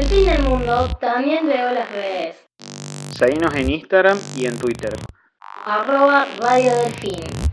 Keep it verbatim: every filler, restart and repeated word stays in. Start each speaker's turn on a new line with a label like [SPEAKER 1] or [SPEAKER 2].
[SPEAKER 1] El fin del mundo también leo las redes.
[SPEAKER 2] Seguinos en Instagram y en Twitter.
[SPEAKER 1] Arroba Radio Delfín.